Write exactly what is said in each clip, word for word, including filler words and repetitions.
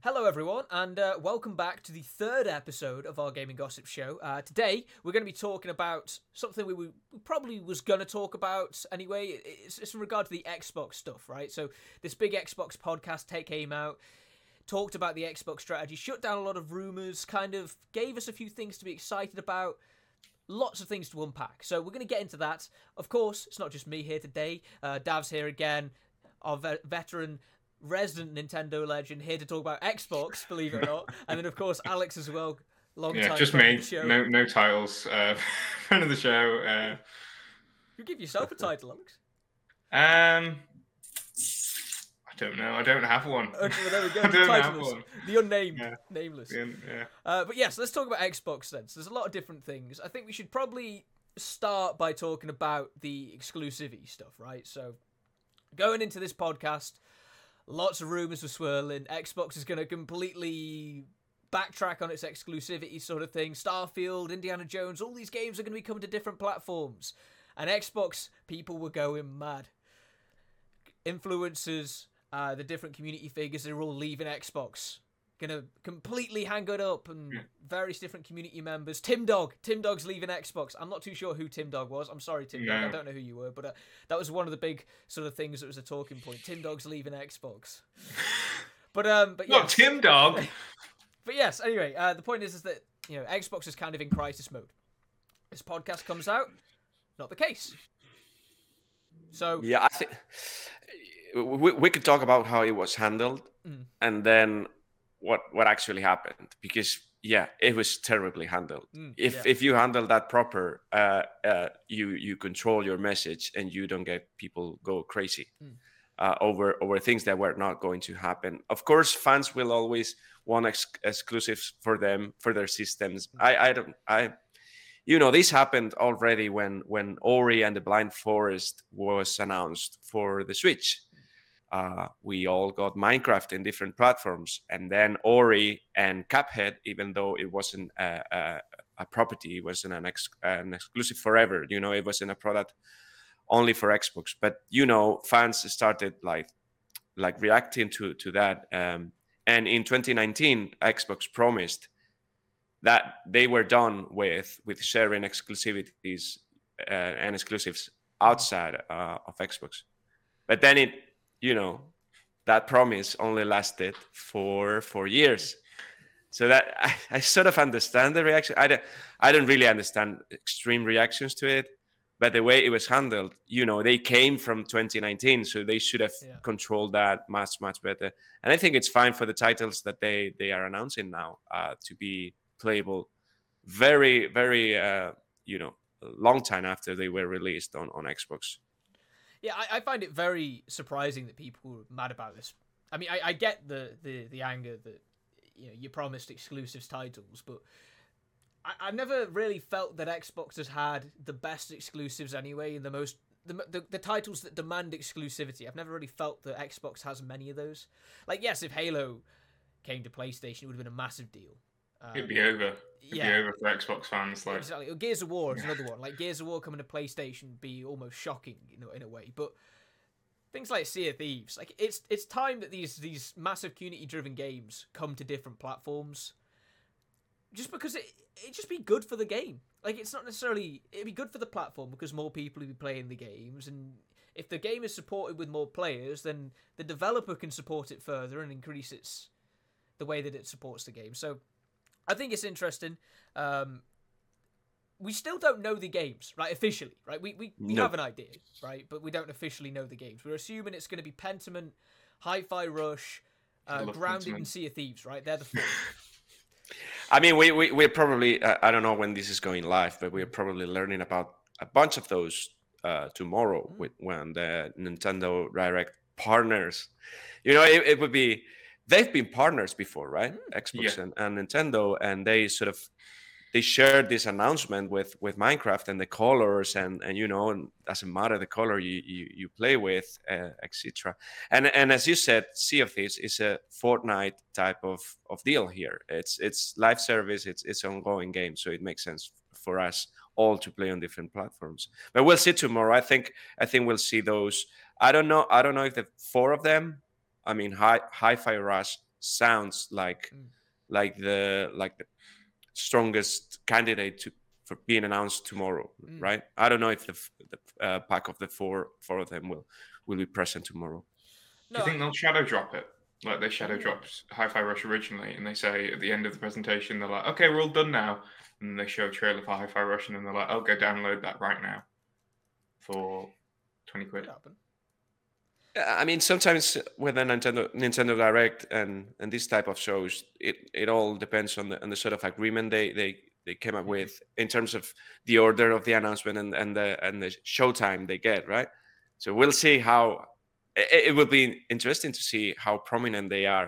Hello, everyone, and uh, welcome back to the third episode of our Gaming Gossip Show. Uh, today, we're going to be talking about something we, we probably was going to talk about anyway. It's, it's in regard to the Xbox stuff, right? So, this big Xbox podcast take came out, talked about the Xbox strategy, shut down a lot of rumors, kind of gave us a few things to be excited about. Lots of things to unpack. So, we're going to get into that. Of course, it's not just me here today. Uh, Dav's here again, our ve- veteran resident Nintendo legend, here to talk about Xbox, believe it or not. And then, of course, Alex as well. Long yeah, time just friend me. of the show. No, no titles. Uh, friend of the show. Uh, you give yourself a title, Alex. Um, I don't know. I don't have one. Okay, well, there we go. I don't have Titleless. one. The unnamed, Yeah. nameless. Yeah. yeah. Uh, but yes, let's talk about Xbox then. So there's a lot of different things. I think we should probably start by talking about the exclusivity stuff, right? So going into this podcast, lots of rumors were swirling. Xbox is going to completely backtrack on its exclusivity sort of thing. Starfield, Indiana Jones, all these games are going to be coming to different platforms. And Xbox, people were going mad. Influencers, uh, the different community figures, they're all leaving Xbox. Gonna completely hang it up, and Yeah. various different community members. Tim Dog, Tim Dog's leaving Xbox. I'm not too sure who Tim Dog was. I'm sorry, Tim Dog. No. I don't know who you were, but uh, that was one of the big sort of things that was a talking point. Tim Dog's leaving Xbox. But um, but yeah, Not Tim Dog. but yes. Anyway, uh, the point is, is that you know Xbox is kind of in crisis mode. This podcast comes out, not the case. So Yeah, I think we, we could talk about how it was handled, Mm. and then what what actually happened, because yeah, it was terribly handled. Mm, if yeah. if you handle that proper, uh, uh, you you control your message and you don't get people go crazy Mm. uh, over over things that were not going to happen. Of course, fans will always want ex- exclusives for them, for their systems. Mm. I I don't I. You know, this happened already when when Ori and the Blind Forest was announced for the Switch. Uh, we all got Minecraft in different platforms, and then Ori and Cuphead, even though it wasn't a, a, a property, it wasn't an, ex, an exclusive forever. You know, it wasn't a product only for Xbox. But you know, fans started like like reacting to to that. Um, and in twenty nineteen, Xbox promised that they were done with with sharing exclusivities uh, and exclusives outside uh, of Xbox. But then it, you know, that promise only lasted for four years. So that I, I sort of understand the reaction. I don't, I don't really understand extreme reactions to it, but the way it was handled, you know, they came from twenty nineteen, so they should have Yeah. controlled that much, much better. And I think it's fine for the titles that they they are announcing now uh, to be playable very, very, uh, you know, a long time after they were released on, on Xbox. Yeah, I, I find it very surprising that people were mad about this. I mean, I, I get the, the, the anger that you know you promised exclusives titles, but I, I've never really felt that Xbox has had the best exclusives anyway, and the most the, the the titles that demand exclusivity. I've never really felt that Xbox has many of those. Like, yes, if Halo came to PlayStation, it would have been a massive deal. Um, It'd be over. It'd yeah. be over for Xbox fans. Like, Exactly. Gears of War is another one. Like, Gears of War coming to PlayStation would be almost shocking, you know, in a way. But things like Sea of Thieves, like it's it's time that these these massive community-driven games come to different platforms. Just because it it just be good for the game. Like, it's not necessarily it'd be good for the platform because more people will be playing the games, and if the game is supported with more players, then the developer can support it further and increase its the way that it supports the game. So I think it's interesting. Um, we still don't know the games, right? Officially, right? We we, we No. have an idea, right? But we don't officially know the games. We're assuming it's going to be Pentiment, Hi-Fi Rush, I uh, love Grounded, Pentiment. and Sea of Thieves, right? They're the four. I mean, we, we, we're probably, uh, I don't know when this is going live, but we're probably learning about a bunch of those uh, tomorrow Mm. with when the Nintendo Direct partners. You know, it, it would be, they've been partners before, right? Mm. Xbox Yeah. and, and Nintendo, and they sort of, they shared this announcement with with Minecraft and the colors, and and you know, and doesn't matter the color you you, you play with, uh, et cetera. And and as you said, Sea of Thieves is a Fortnite type of of deal here. It's it's live service, it's it's ongoing game, so it makes sense for us all to play on different platforms. But we'll see tomorrow. I think I think we'll see those. I don't know. I don't know if the four of them. I mean, Hi Hi-Fi Rush sounds like Mm. like the like the strongest candidate to for being announced tomorrow, Mm. right? I don't know if the, f- the uh, pack of the four four of them will will be present tomorrow. Do you think they'll shadow drop it? Like they shadow Ooh. dropped Hi-Fi Rush originally, and they say at the end of the presentation, they're like, okay, we're all done now. And then they show a trailer for Hi-Fi Rush, and then they're like, oh, go download that right now for twenty quid. Could happen. I mean, sometimes with a Nintendo Nintendo Direct and and this type of shows, it, it all depends on the on the sort of agreement they they, they came up with in terms of the order of the announcement and, and the and the showtime they get, right? So we'll see how it, it will be interesting to see how prominent they are.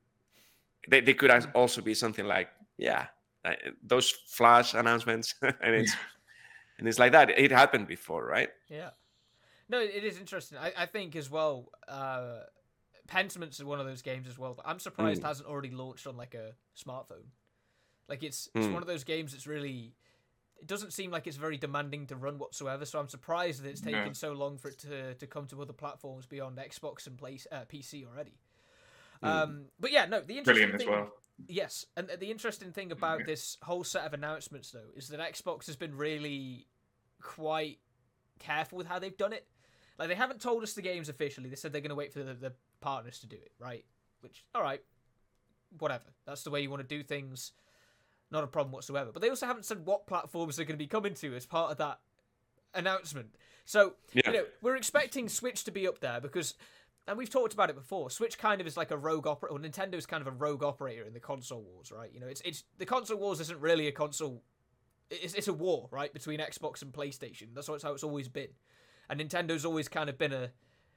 They they could as- also be something like, yeah, uh, those flash announcements, and it's and it's like that. It happened before, right? Yeah. No, it is interesting. I, I think as well, uh, Pentiment is one of those games as well that I'm surprised Mm. hasn't already launched on like a smartphone. Like it's it's Mm. one of those games that's really, it doesn't seem like it's very demanding to run whatsoever. So I'm surprised that it's No. taken so long for it to to come to other platforms beyond Xbox and play, uh, P C already. Mm. Um, but yeah, no, the interesting Brilliant as thing, well. yes, and the interesting thing about Yeah. this whole set of announcements though is that Xbox has been really quite careful with how they've done it. Like they haven't told us the games officially. They said they're going to wait for the, the partners to do it, right? Which, all right, whatever. That's the way you want to do things. Not a problem whatsoever. But they also haven't said what platforms they're going to be coming to as part of that announcement. So, Yeah. you know, we're expecting Switch to be up there because, and we've talked about it before, Switch kind of is like a rogue operator, or Nintendo's kind of a rogue operator in the console wars, right? You know, it's it's the console wars isn't really a console, it's, it's a war, right, between Xbox and PlayStation. That's how it's, how it's always been. And Nintendo's always kind of been a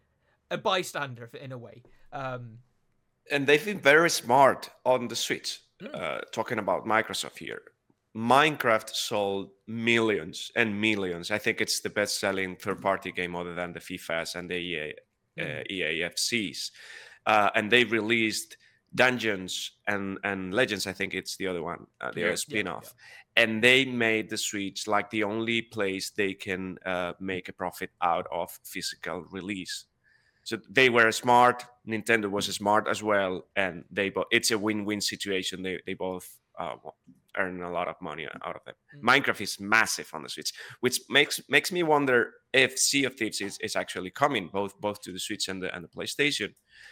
a bystander in a way. Um, And they've been very smart on the Switch. Mm. Uh, talking about Microsoft here, Minecraft sold millions and millions. I think it's the best-selling third-party game other than the FIFAs and the E A, uh, E A F Cs. Uh, and they released Dungeons and and Legends. I think it's the other one, uh, the Yeah. other spin-off. And they made the Switch like the only place they can uh, make a profit out of physical release. So they were smart. Nintendo was smart as well, and they both. It's a win-win situation. They they both uh, earn a lot of money out of it. Mm. Minecraft is massive on the Switch, which makes makes me wonder if Sea of Thieves is, is actually coming both both to the Switch and the and the PlayStation.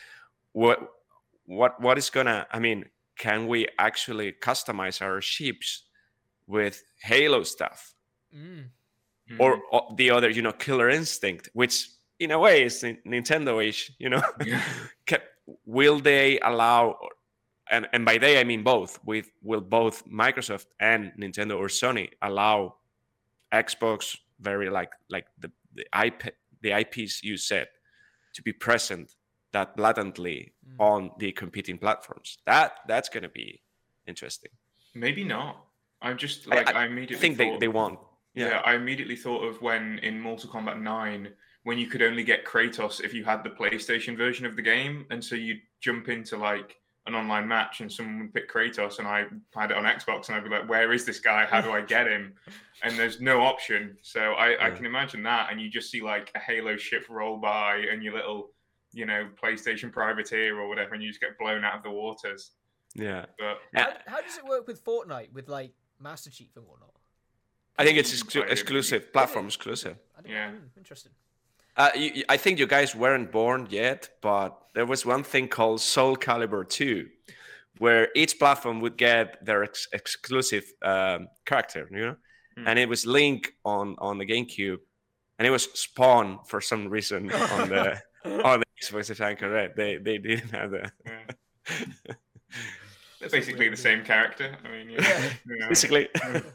What what what is gonna? I mean, can we actually customize our ships with Halo stuff, mm. Mm. or, or the other, you know, Killer Instinct, which in a way is Nin- Nintendo-ish, you know? Yeah. Ca- will they allow, and, and by they I mean both, with will both Microsoft and Nintendo or Sony allow Xbox, very like like the the I P the I Ps you said, to be present that blatantly Mm. on the competing platforms? That that's going to be interesting. Maybe not. I just I- like I I, immediately I think they, thought, they won't. Yeah. Yeah. I immediately thought of when in Mortal Kombat nine, when you could only get Kratos if you had the PlayStation version of the game, and so you'd jump into like an online match and someone would pick Kratos, and I had it on Xbox, and I'd be like, "Where is this guy? How do I get him?" And there's no option. So I, I Yeah. can imagine that, and you just see like a Halo ship roll by, and your little, you know, PlayStation privateer or whatever, and you just get blown out of the waters. Yeah. But How, how does it work with Fortnite with like Master Chief and whatnot? I think it's You can exclu- buy it. exclusive, platform exclusive. I didn't, Yeah. mm, interesting. Uh, you, you- I think you guys weren't born yet, but there was one thing called Soul Calibur two, where each platform would get their ex- exclusive um, character, you know, Hmm. and it was Link on on the GameCube, and it was Spawn for some reason on the on the Xbox. If I'm correct, they they didn't have that. Yeah. They're basically the same character. I mean, yeah. Yeah. Yeah. Basically,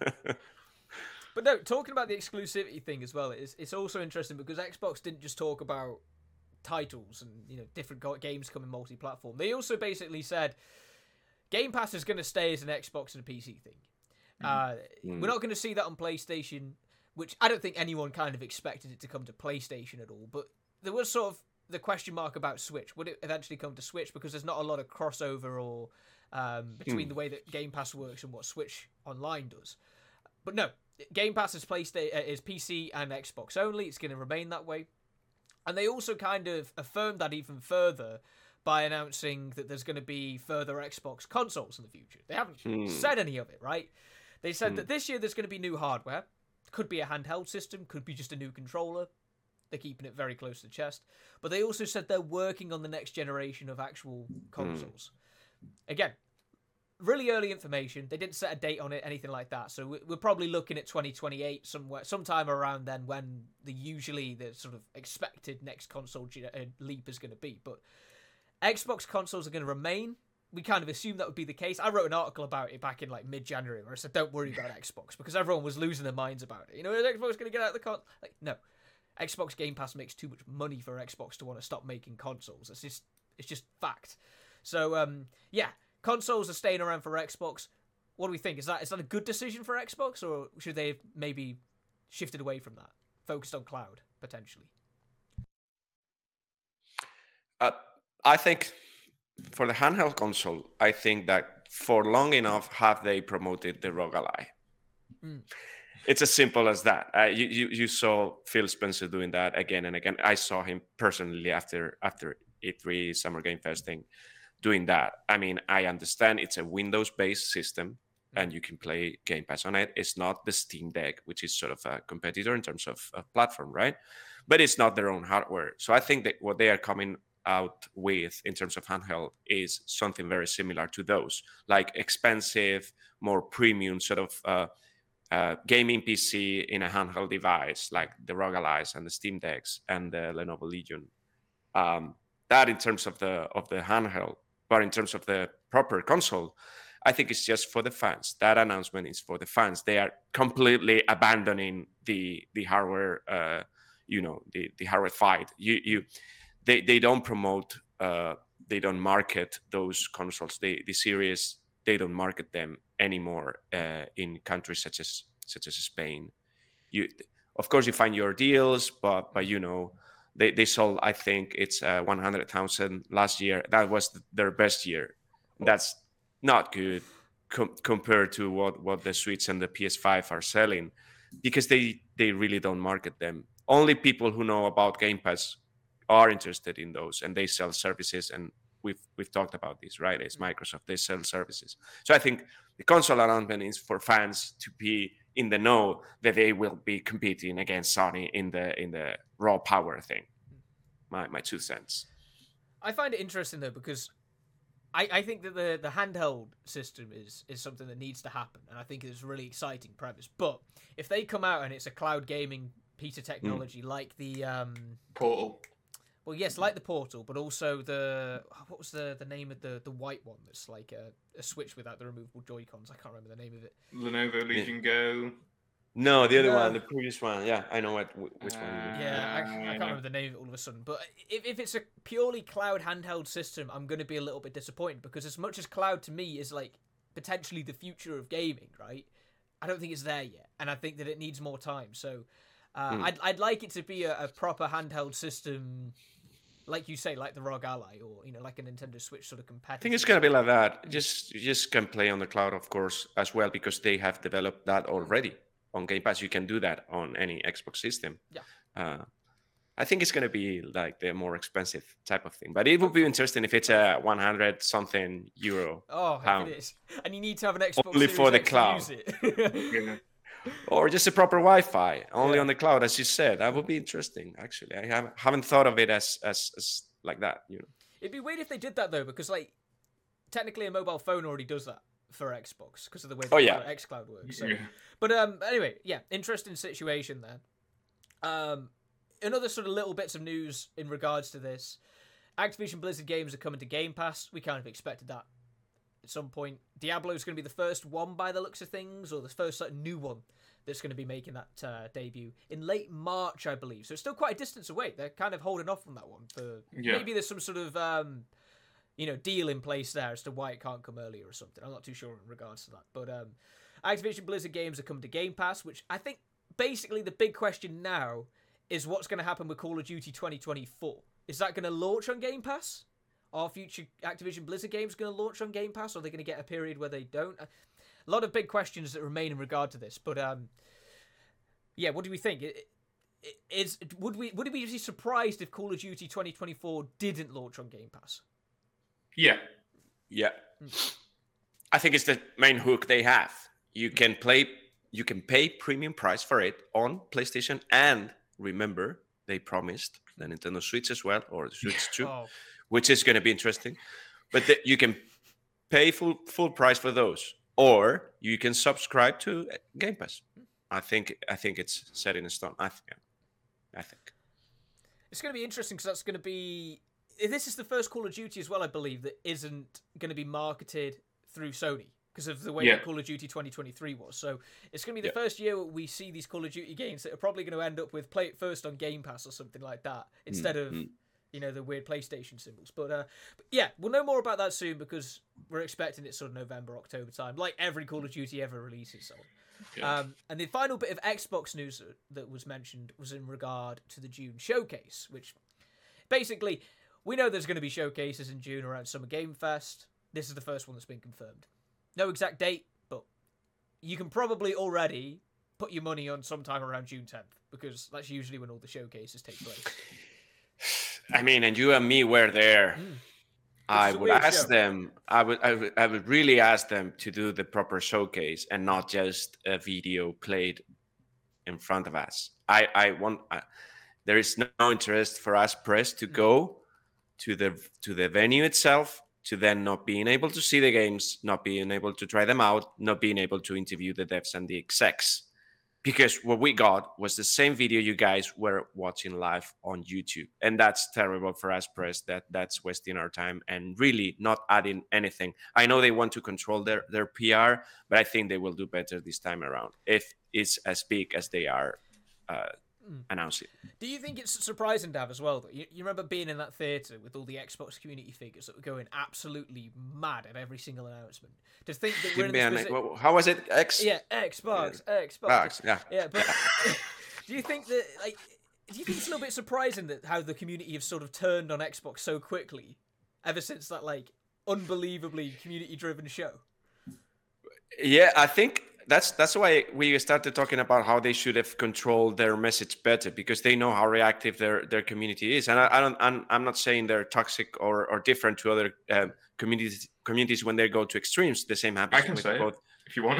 But no, talking about the exclusivity thing as well, it's it's also interesting because Xbox didn't just talk about titles and you know different go- games coming multi-platform. They also basically said Game Pass is going to stay as an Xbox and a P C thing. Uh, Mm. We're not going to see that on PlayStation, which I don't think anyone kind of expected it to come to PlayStation at all. But there was sort of the question mark about Switch. Would it eventually come to Switch? Because there's not a lot of crossover or um, between Hmm. the way that Game Pass works and what Switch Online does. But no, Game Pass is PlayStation uh, is P C and Xbox only. It's going to remain that way. And they also kind of affirmed that even further by announcing that there's going to be further Xbox consoles in the future. They haven't Hmm. said any of it, right? They said Hmm. that this year there's going to be new hardware. Could be a handheld system, could be just a new controller. They're keeping it very close to the chest. But they also said they're working on the next generation of actual consoles. Again, really early information. They didn't set a date on it, anything like that. So we're probably looking at twenty twenty-eight, somewhere, sometime around then, when the usually the sort of expected next console leap is going to be. But Xbox consoles are going to remain. We kind of assumed that would be the case. I wrote an article about it back in like mid-January where I said, don't worry about Xbox, because everyone was losing their minds about it. You know, is Xbox going to get out of the con? Like, no. Xbox Game Pass makes too much money for Xbox to want to stop making consoles. It's just, it's just fact. So, um, yeah, consoles are staying around for Xbox. What do we think? Is that is that a good decision for Xbox, or should they have maybe shifted away from that, focused on cloud potentially? Uh, I think for the handheld console, I think that for long enough have they promoted the R O G Ally. Mm. It's as simple as that. Uh, you, you you saw Phil Spencer doing that again and again. I saw him personally after after E three Summer Game Fest thing, doing that. I mean, I understand it's a Windows-based system and you can play Game Pass on it. It's not the Steam Deck, which is sort of a competitor in terms of, of platform, right? But it's not their own hardware. So I think that what they are coming out with in terms of handheld is something very similar to those, like expensive, more premium sort of uh, uh, gaming P C in a handheld device, like the R O G Allies and the Steam Decks and the Lenovo Legion. Um, that in terms of the of the handheld, but in terms of the proper console, I think it's just for the fans. That announcement is for the fans. They are completely abandoning the the hardware, uh, you know, the the hardware fight. You you, they they don't promote, uh, they don't market those consoles. They the series they don't market them anymore uh, in countries such as such as Spain. You of course you find your deals, but but you know. They they sold, I think it's uh, one hundred thousand last year. That was th- their best year. That's not good com- compared to what, what the Switch and the P S five are selling, because they, they really don't market them. Only people who know about Game Pass are interested in those, and they sell services. And we've we've talked about this, right? It's Microsoft. They sell services. So I think the console announcement is for fans to be in the know that they will be competing against Sony in the in the raw power thing. My my two cents. I find it interesting though, because I, I think that the, the handheld system is is something that needs to happen, and I think it's a really exciting premise. But if they come out and it's a cloud gaming piece of technology mm. like the um, Portal. Well, yes, like the Portal, but also the what was the, the name of the, the white one that's like a, a Switch without the removable Joy-Cons? I can't remember the name of it. Lenovo Legion Go. No, the other no. one, the previous one. Yeah, I know what which uh, one. Yeah, I, I can't remember the name of it all of a sudden. But if if it's a purely cloud handheld system, I'm going to be a little bit disappointed, because as much as cloud to me is like potentially the future of gaming, right? I don't think it's there yet, and I think that it needs more time. So uh, mm. I'd I'd like it to be a, a proper handheld system. Like you say, like the R O G Ally, or you know, like a Nintendo Switch sort of competitor. I think it's gonna be like that. Just you just can play on the cloud, of course, as well, because they have developed that already on Game Pass. You can do that on any Xbox system. Yeah. Uh, I think it's gonna be like the more expensive type of thing, but it would be interesting if it's a one hundred something euro. Oh, pound. It is, and you need to have an Xbox only Series for the X cloud. To use it. Yeah. Or just a proper Wi-Fi, only yeah. on the cloud, as you said. That would be interesting, actually. I have, haven't thought of it as, as as like that, you know. It'd be weird if they did that though, because like technically a mobile phone already does that for Xbox because of the way that oh, yeah. xCloud works. So. Yeah. But um, anyway, yeah, interesting situation there. Um, another sort of little bits of news in regards to this: Activision Blizzard games are coming to Game Pass. We kind of expected that at some point. Diablo's going to be the first one by the looks of things, or the first like, new one that's going to be making that uh, debut in late March, I believe. So it's still quite a distance away. They're kind of holding off on that one. For yeah. Maybe there's some sort of um, you know, deal in place there as to why it can't come earlier or something. I'm not too sure in regards to that. But um, Activision Blizzard games are coming to Game Pass, which I think basically the big question now is what's going to happen with Call of Duty twenty twenty-four. Is that going to launch on Game Pass? Are future Activision Blizzard games going to launch on Game Pass? Or are they going to get a period where they don't? A lot of big questions that remain in regard to this. But um, yeah, what do we think? It, it, is would we would we be surprised if Call of Duty twenty twenty-four didn't launch on Game Pass? Yeah. Yeah. I think it's the main hook they have. You can play, you can pay premium price for it on PlayStation, and remember, they promised the Nintendo Switch as well, or the Switch two, Oh. which is going to be interesting. But the, you can pay full full price for those, or you can subscribe to Game Pass. I think I think it's set in stone. I think. I think it's going to be interesting because that's going to be. This is the first Call of Duty as well, I believe, that isn't going to be marketed through Sony because of the way Yeah. that Call of Duty twenty twenty-three was. So it's going to be the Yeah. first year we see these Call of Duty games that are probably going to end up with play it first on Game Pass or something like that instead of, Mhm. you know, the weird PlayStation symbols. But, uh, but yeah, we'll know more about that soon because we're expecting it sort of November, October time, like every Call of Duty ever releases. So. Yeah. Um, and the final bit of Xbox news that was mentioned was in regard to the June showcase, which basically we know there's going to be showcases in June around Summer Game Fest. This is the first one that's been confirmed. No exact date, but you can probably already put your money on sometime around June tenth because that's usually when all the showcases take place. I mean, and you and me were there. Mm. I is a would weird ask show. them. I would, I would. I would really ask them to do the proper showcase and not just a video played in front of us. I. I want. I, there is no interest for us press to go to the to the venue itself, to then not being able to see the games, not being able to try them out, not being able to interview the devs and the execs. Because what we got was the same video you guys were watching live on YouTube. And that's terrible for us press. That that's wasting our time and really not adding anything. I know they want to control their, their P R, but I think they will do better this time around if it's as big as they are uh, Mm. announcing. Do you think it's surprising, Dav, as well? That you, you remember being in that theatre with all the Xbox community figures that were going absolutely mad at every single announcement? To think that we're in this Man, posi- well, how was it? X? yeah, Xbox, Xbox, X, yeah. yeah. But do you think that like, do you think it's a little bit surprising that how the community have sort of turned on Xbox so quickly, ever since that like unbelievably community-driven show? Yeah, I think that's that's why we started talking about how they should have controlled their message better, because they know how reactive their their community is. And I, I don't, I'm, I'm not saying they're toxic or, or different to other um, communities communities when they go to extremes. The same happens I can with say both. it if you want.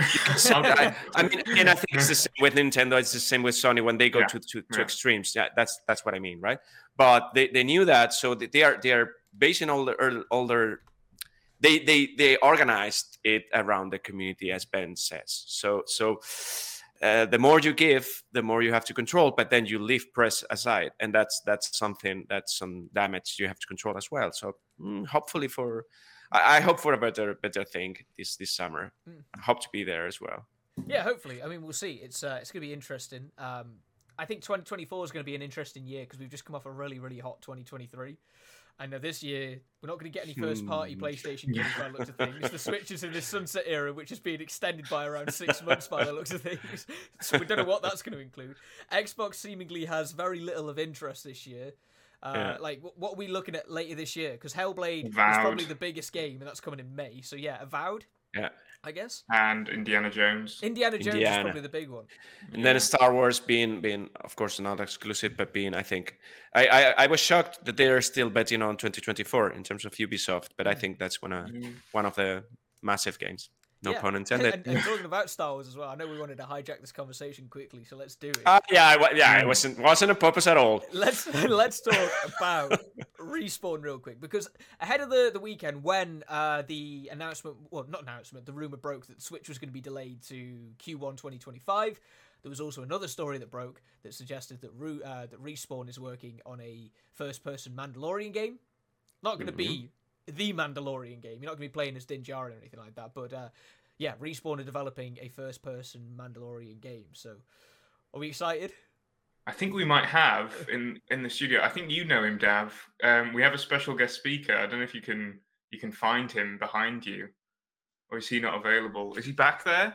I, I mean, and I think it's the same with Nintendo. It's the same with Sony when they go Yeah, to, to, to yeah. extremes. Yeah, that's that's what I mean, right? But they, they knew that, so they are they are basing all their all their they they they organized it around the community, as Ben says. So so uh, the more you give, the more you have to control, but then you leave press aside, and that's that's something that's some damage you have to control as well. So mm, hopefully for. I, I hope for a better better thing this this summer. Mm. I hope to be there as well. Yeah, hopefully. I mean, we'll see. It's uh, it's going to be interesting. Um, I think twenty twenty-four is going to be an interesting year because we've just come off a really, really hot twenty twenty-three. I know this year we're not going to get any first-party Hmm. PlayStation games by the looks of things. The Switch is in this sunset era, which has been extended by around six months by the looks of things. So we don't know what that's going to include. Xbox seemingly has very little of interest this year. Uh, Yeah. Like, wh- what are we looking at later this year? Because Hellblade is Avowed. probably the biggest game, and that's coming in May. So yeah, Avowed, Yeah. I guess. And Indiana Jones. Indiana Jones is Indiana. probably the big one. And then Star Wars being being of course not exclusive, but being I think I, I I was shocked that they are still betting on twenty twenty-four in terms of Ubisoft, but I think that's one of Mm. one of the massive games. No Yeah. pun intended. And, and talking about Star Wars as well, I know we wanted to hijack this conversation quickly, so let's do it. Uh, yeah, I, wa- yeah, it wasn't wasn't a purpose at all. Let's let's talk about Respawn real quick, because ahead of the, the weekend when uh, the announcement, well, not announcement, the rumor broke that Switch was going to be delayed to Q one twenty twenty-five. There was also another story that broke that suggested that Ru- uh, that Respawn is working on a first-person Mandalorian game. Not going to be the Mandalorian game. You're not going to be playing as Din Djarin or anything like that. But uh, yeah, Respawn are developing a first-person Mandalorian game. So, are we excited? I think we might have in in the studio. I think you know him, Dav. Um, we have a special guest speaker. I don't know if you can you can find him behind you, or is he not available? Is he back there?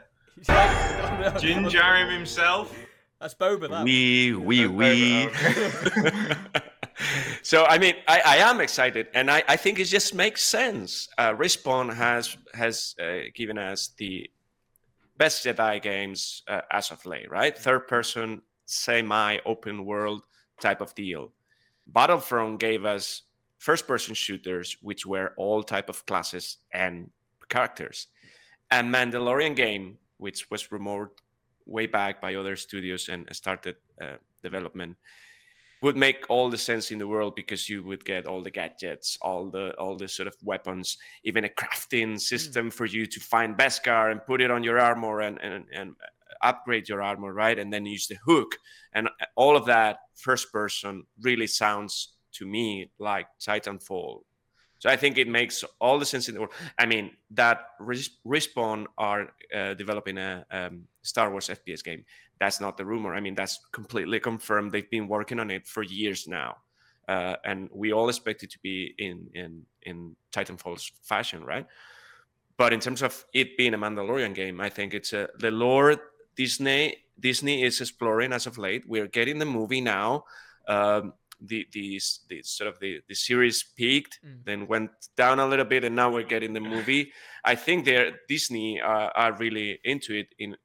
Din Djarin himself. That's Boba. That. We we That's we. Boba, So I mean, I, I am excited, and I, I think it just makes sense. Uh, Respawn has has uh, given us the best Jedi games uh, as of late, right? Third person, semi open world type of deal. Battlefront gave us first-person shooters, which were all type of classes and characters. And Mandalorian game, which was rumored way back by other studios and started uh, development, would make all the sense in the world, because you would get all the gadgets, all the all the sort of weapons, even a crafting system mm. for you to find Beskar and put it on your armor and, and and upgrade your armor, right? And then use the hook, and all of that first person really sounds to me like Titanfall. So I think it makes all the sense in the world. I mean, that Res- Respawn are uh, developing a um, Star Wars F P S game. That's not the rumor. I mean, that's completely confirmed. They've been working on it for years now. Uh, and we all expect it to be in, in, in Titanfall's fashion, right? But in terms of it being a Mandalorian game, I think it's a, the lore Disney Disney is exploring as of late. We're getting the movie now. Um, the the, the sort of the, the series peaked, mm. then went down a little bit, and now we're getting the movie. I think they're Disney are, are really into it in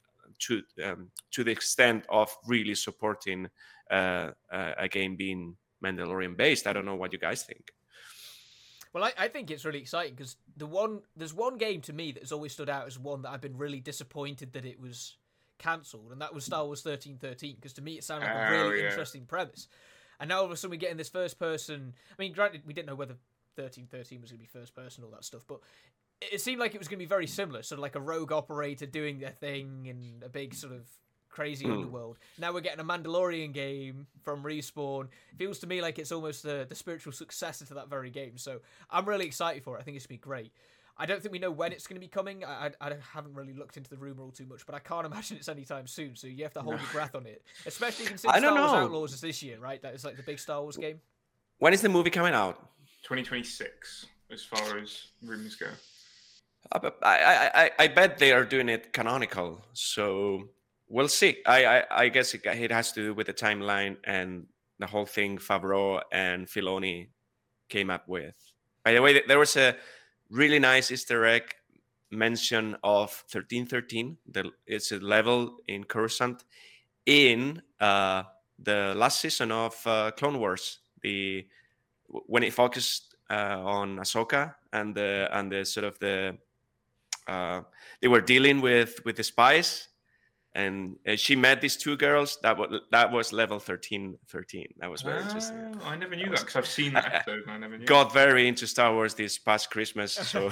to um, to the extent of really supporting uh, a game being Mandalorian based. I don't know what you guys think. Well, I, I think it's really exciting, because the one there's one game to me that has always stood out as one that I've been really disappointed that it was cancelled, and that was Star Wars thirteen thirteen, because to me it sounded like a really oh, yeah. interesting premise. And now all of a sudden we're getting this first person. I mean, granted, we didn't know whether thirteen thirteen was going to be first person, all that stuff, but it seemed like it was going to be very similar, sort of like a rogue operator doing their thing in a big sort of crazy mm. underworld. Now we're getting a Mandalorian game from Respawn. It feels to me like it's almost the, the spiritual successor to that very game. So I'm really excited for it. I think it's going to be great. I don't think we know when it's going to be coming. I, I, I haven't really looked into the rumor all too much, but I can't imagine it's anytime soon. So you have to hold no. your breath on it, especially considering Star Wars Outlaws is this year, right? That is like the big Star Wars game. When is the movie coming out? twenty twenty-six, as far as rumors go. I, I, I, I bet they are doing it canonical, so we'll see. I, I, I guess it, it has to do with the timeline and the whole thing Favreau and Filoni came up with. By the way, there was a really nice Easter egg mention of thirteen thirteen. The, it's a level in Coruscant in uh, the last season of uh, Clone Wars. The when it focused uh, on Ahsoka and the and the sort of the uh, they were dealing with with the spies, and uh, she met these two girls. That was that was level thirteen thirteen. That was very oh, interesting. I never knew that because I've seen that episode. And I never knew. Got very into Star Wars this past Christmas, so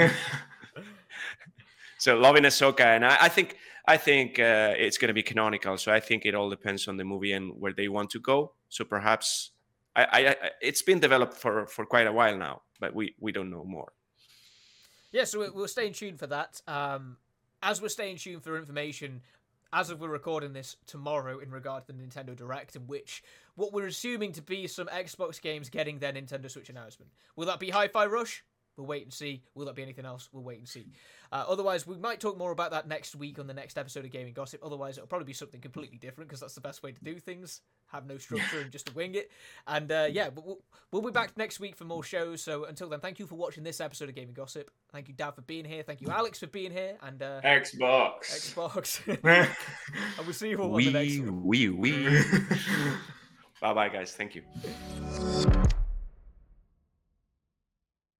so loving Ahsoka, and I, I think I think uh, it's going to be canonical. So I think it all depends on the movie and where they want to go. So perhaps I, I, I it's been developed for, for quite a while now, but we, we don't know more. Yeah, so we'll stay in tune for that. Um, as we're staying tuned for information, as of we're recording this tomorrow in regard to the Nintendo Direct, in which what we're assuming to be some Xbox games getting their Nintendo Switch announcement. Will that be Hi-Fi Rush? We'll wait and see. Will that be anything else? We'll wait and see. Uh, otherwise, we might talk more about that next week on the next episode of Gaming Gossip. Otherwise, it'll probably be something completely different, because that's the best way to do things. Have no structure and just to wing it. And uh, yeah, we'll, we'll be back next week for more shows. So until then, thank you for watching this episode of Gaming Gossip. Thank you, Dan, for being here. Thank you, Alex, for being here. And uh, Xbox. Xbox. And we'll see you all wee, on the next one. Wee, wee. Bye-bye, guys. Thank you.